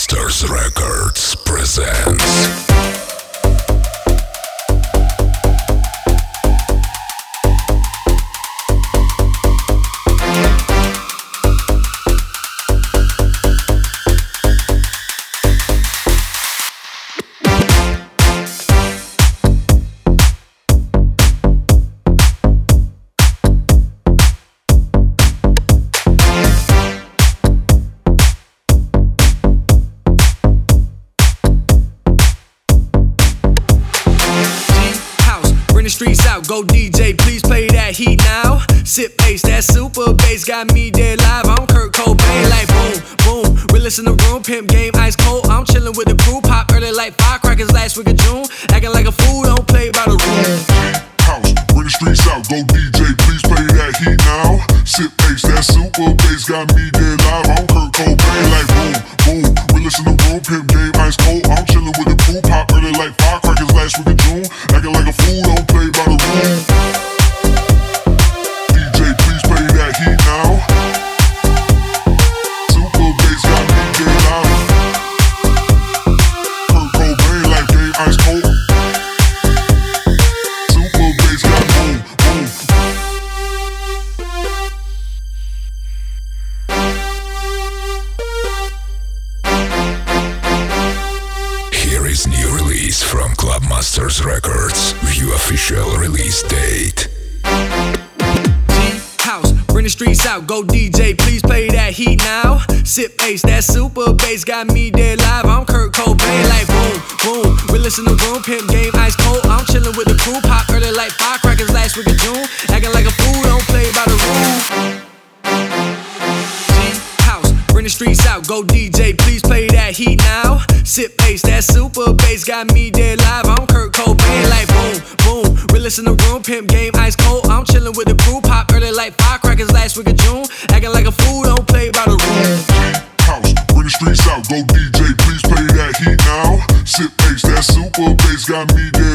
Masters Records presents. Streets out, go DJ, please play that heat now. Sip bass, that super bass got me dead live. I'm Kurt Cobain, like boom, boom. Realest in the room, pimp game ice cold. I'm chillin' with the crew, pop early like firecrackers last week of June. Acting like a fool, don't play by the rules. House, bring the streets out, go DJ, please play that heat now. Sip bass, that super bass got me dead live. I'm Kurt Cobain, like boom, boom. Realest in the room, pimp game ice cold. I'm chillin' with the crew, pop early like firecrackers last week of June. Acting like a fool, don't play by the rules. DJ, please play that heat now. Super bass got me dead live. Kurt Cobain, like game ice cold. Super bass got boom, boom. Here is new release from Club Masters Records. View official release date. House, bring the streets out, go DJ, please play that heat now. Sip bass, that super bass got me dead live. I'm Kurt Cobain, like boom, boom. Realest in the room, pimp game ice cold. I'm chillin' with the crew, pop early like firecrackers last week of June. Acting like a fool, don't play by the rules. House, bring the streets out, go DJ, please play that heat now. Sip bass, that super bass got me dead live. I'm Kurt Cobain, like boom, boom. Realest in the room, pimp game ice cold. I'm chillin' with the crew, pop early like firecrackers last week of June. Acting like a fool, don't play by the rules. House, bring the streets out, go DJ, please play that heat now. Sip bass, that super bass got me dead